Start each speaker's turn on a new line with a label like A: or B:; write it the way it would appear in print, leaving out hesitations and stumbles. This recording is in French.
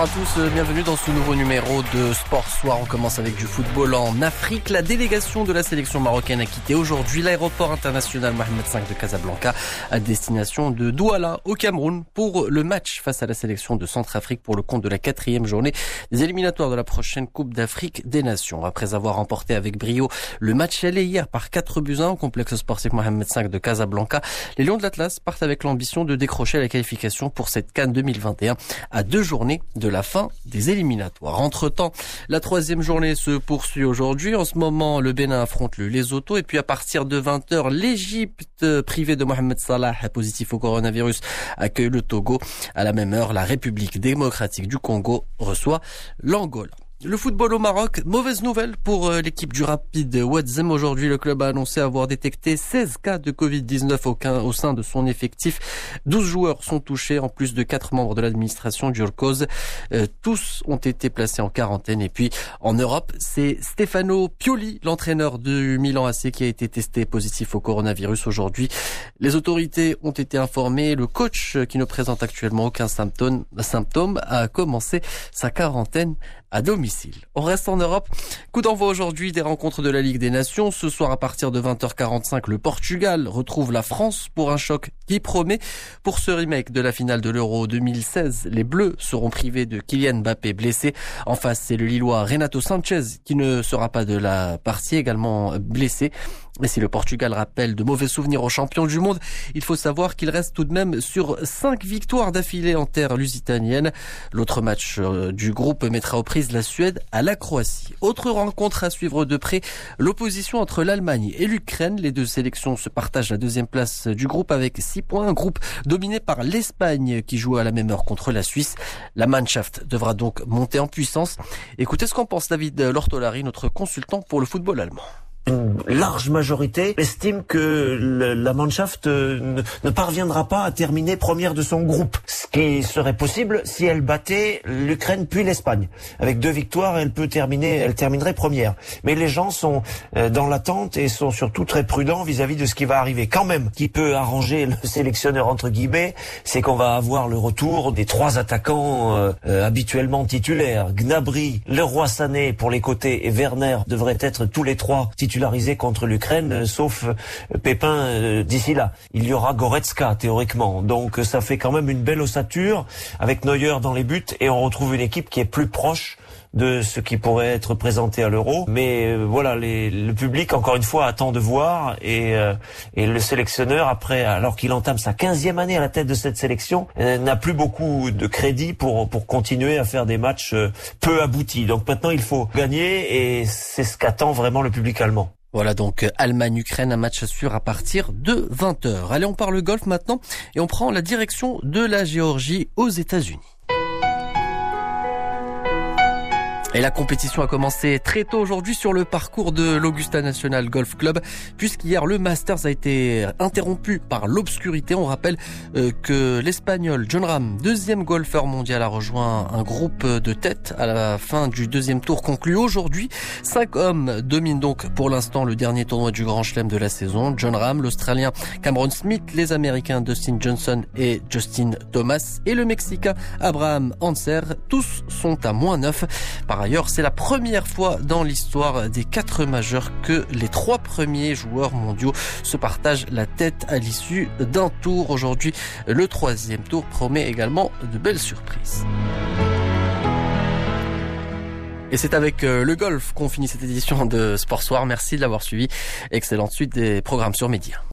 A: à tous, bienvenue dans ce nouveau numéro de Sport Soir. On commence avec du football en Afrique. La délégation de la sélection marocaine a quitté aujourd'hui l'aéroport international Mohamed V de Casablanca à destination de Douala au Cameroun pour le match face à la sélection de Centrafrique pour le compte de la 4e journée des éliminatoires de la prochaine Coupe d'Afrique des Nations. Après avoir remporté avec brio le match aller hier par 4-1 au complexe sportif Mohamed V de Casablanca, les Lions de l'Atlas partent avec l'ambition de décrocher la qualification pour cette CAN 2021 à 2 journées de la fin des éliminatoires. Entre-temps, la 3e journée se poursuit aujourd'hui. En ce moment, le Bénin affronte le Lesotho et puis à partir de 20h, l'Égypte, privée de Mohamed Salah, positif au coronavirus, accueille le Togo. À la même heure, la République démocratique du Congo reçoit l'Angola. Le football au Maroc, mauvaise nouvelle pour l'équipe du Rapid Ouazzem. Aujourd'hui, le club a annoncé avoir détecté 16 cas de Covid-19 au sein de son effectif. 12 joueurs sont touchés, en plus de 4 membres de l'administration du Urkoz. Tous ont été placés en quarantaine. Et puis, en Europe, c'est Stefano Pioli, l'entraîneur du Milan AC, qui a été testé positif au coronavirus aujourd'hui. Les autorités ont été informées. Le coach, qui ne présente actuellement aucun symptôme, a commencé sa quarantaine à domicile. On reste en Europe. Coup d'envoi aujourd'hui des rencontres de la Ligue des Nations. Ce soir à partir de 20h45, le Portugal retrouve la France pour un choc qui promet. Pour ce remake de la finale de l'Euro 2016, les Bleus seront privés de Kylian Mbappé blessé. En face, c'est le Lillois Renato Sanchez qui ne sera pas de la partie, également blessé. Et si le Portugal rappelle de mauvais souvenirs aux champions du monde, il faut savoir qu'il reste tout de même sur 5 victoires d'affilée en terre lusitanienne. L'autre match du groupe mettra aux prises la Suède à la Croatie. Autre rencontre à suivre de près, l'opposition entre l'Allemagne et l'Ukraine. Les deux sélections se partagent la 2e place du groupe avec 6 points. Un groupe dominé par l'Espagne qui joue à la même heure contre la Suisse. La Mannschaft devra donc monter en puissance. Écoutez ce qu'en pense David Lortolari, notre consultant pour le football allemand.
B: Une large majorité estime que la Mannschaft ne parviendra pas à terminer première de son groupe. Ce qui serait possible si elle battait l'Ukraine puis l'Espagne. Avec 2 victoires, elle terminerait première. Mais les gens sont dans l'attente et sont surtout très prudents vis-à-vis de ce qui va arriver. Quand même, qui peut arranger le sélectionneur entre guillemets, c'est qu'on va avoir le retour des 3 attaquants habituellement titulaires. Gnabry, Leroy Sané pour les côtés et Werner devraient être tous les 3 titularisé contre l'Ukraine, sauf Pépin d'ici là. Il y aura Goretzka, théoriquement. Donc ça fait quand même une belle ossature, avec Neuer dans les buts, et on retrouve une équipe qui est plus proche de ce qui pourrait être présenté à l'Euro. Mais voilà, le public, encore une fois, attend de voir, et le sélectionneur, après, alors qu'il entame sa 15e année à la tête de cette sélection, n'a plus beaucoup de crédit pour continuer à faire des matchs peu aboutis. Donc maintenant, il faut gagner, et c'est ce qu'attend vraiment le public allemand.
A: Voilà donc Allemagne-Ukraine, un match sûr à partir de 20h. Allez, on parle golf maintenant et on prend la direction de la Géorgie aux États-Unis. Et la compétition a commencé très tôt aujourd'hui sur le parcours de l'Augusta National Golf Club, puisqu'hier le Masters a été interrompu par l'obscurité. On rappelle que l'Espagnol Jon Rahm, 2e golfeur mondial, a rejoint un groupe de tête à la fin du 2e tour conclu aujourd'hui. 5 hommes dominent donc pour l'instant le dernier tournoi du Grand Chelem de la saison. Jon Rahm, l'Australien Cameron Smith, les Américains Dustin Johnson et Justin Thomas et le Mexicain Abraham Ancer. Tous sont à -9. Par ailleurs, c'est la première fois dans l'histoire des 4 majeurs que les 3 premiers joueurs mondiaux se partagent la tête à l'issue d'un tour. Aujourd'hui, le 3e tour promet également de belles surprises. Et c'est avec le golf qu'on finit cette édition de Sport Soir. Merci de l'avoir suivi. Excellente suite des programmes sur Média.